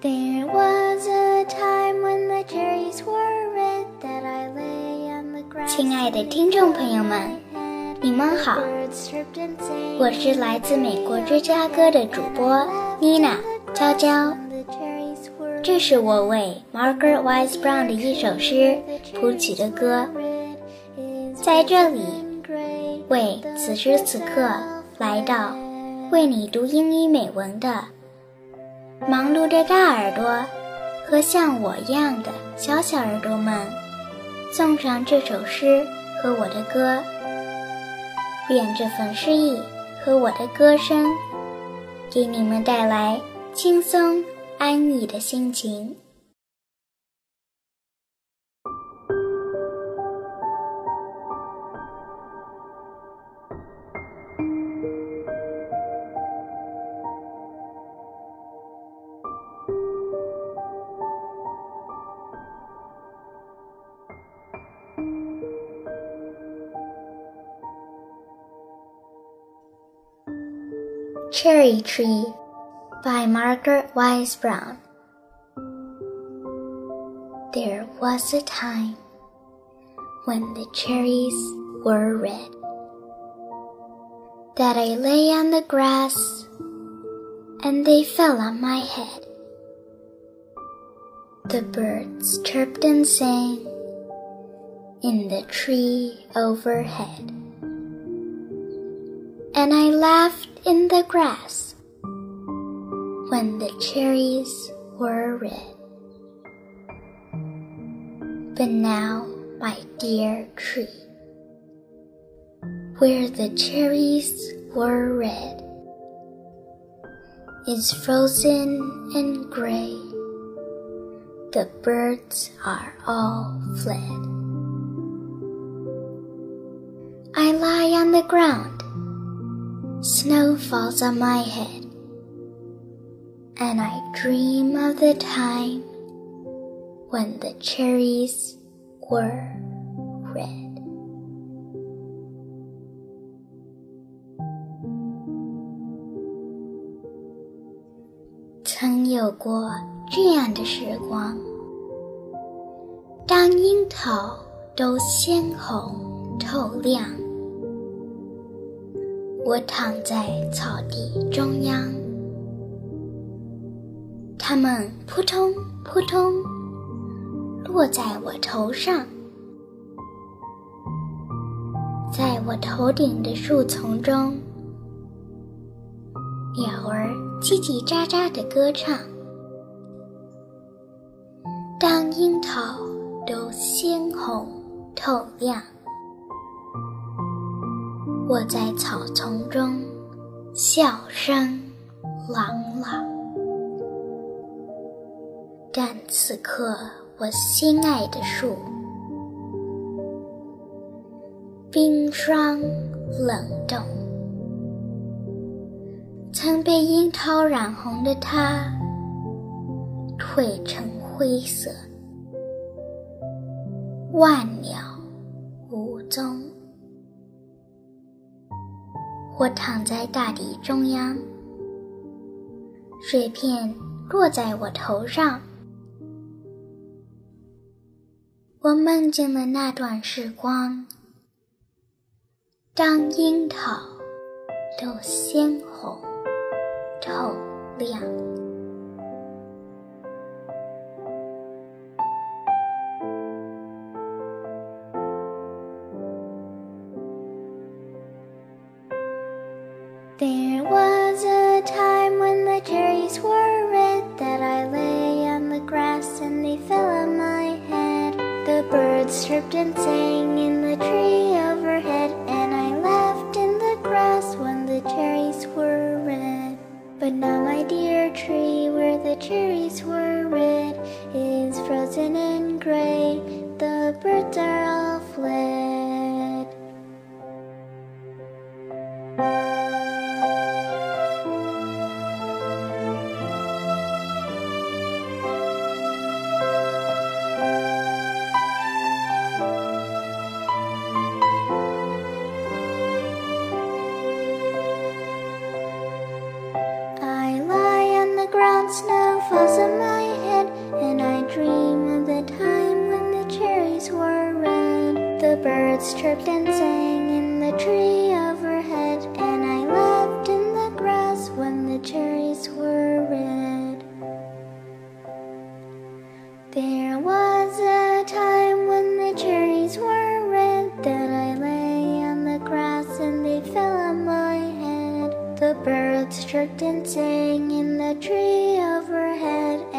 There was a time when the cherries were red that I lay on the grass. 亲爱的听众朋友们，你们好，我是来自美国芝加哥的主播妮娜娇娇。这是我为 Margaret Wise Brown 的一首诗谱曲的歌，在这里为此时此刻来到为你读英语美文的忙碌的大耳朵和像我一样的小小耳朵们送上这首诗和我的歌，愿这份诗意和我的歌声给你们带来轻松安逸的心情。Cherry Tree by Margaret Wise Brown. There was a time when the cherries were red, that I lay on the grass and they fell on my head. The birds chirped and sang in the tree overhead, and I laughed in the grass when the cherries were red. But now, my dear tree, where the cherries were red, is frozen and gray. The birds are all fled. I lie on the ground. Snow falls on my head, and I dream of the time when the cherries were red. 曾有过这样的时光，当樱桃都鲜红透亮，我躺在草地中央，它们扑通扑通落在我头上，在我头顶的树丛中，鸟儿叽叽喳喳地歌唱。当樱桃都鲜红透亮，我在草丛中笑声朗朗，但此刻我心爱的树，冰霜冷冻，曾被樱桃染红的它，褪成灰色，万鸟无踪。我躺在大地中央，水片落在我头上，我梦见了那段时光，当樱桃都鲜红透亮。There was a time when the cherries were red, that I lay on the grass and they fell on my head. The birds chirped and sang in the tree overhead, and I laughed in the grass when the cherries were red. But now, my dear tree, where the cherries were red, is frozen and gray. The birds are all fled. Snow falls on my chirped and sang in the tree overhead, and I laughed in the grass when the cherries were red. There was a time when the cherries were red, that I lay on the grass and they fell on my head. The birds chirped and sang in the tree overhead,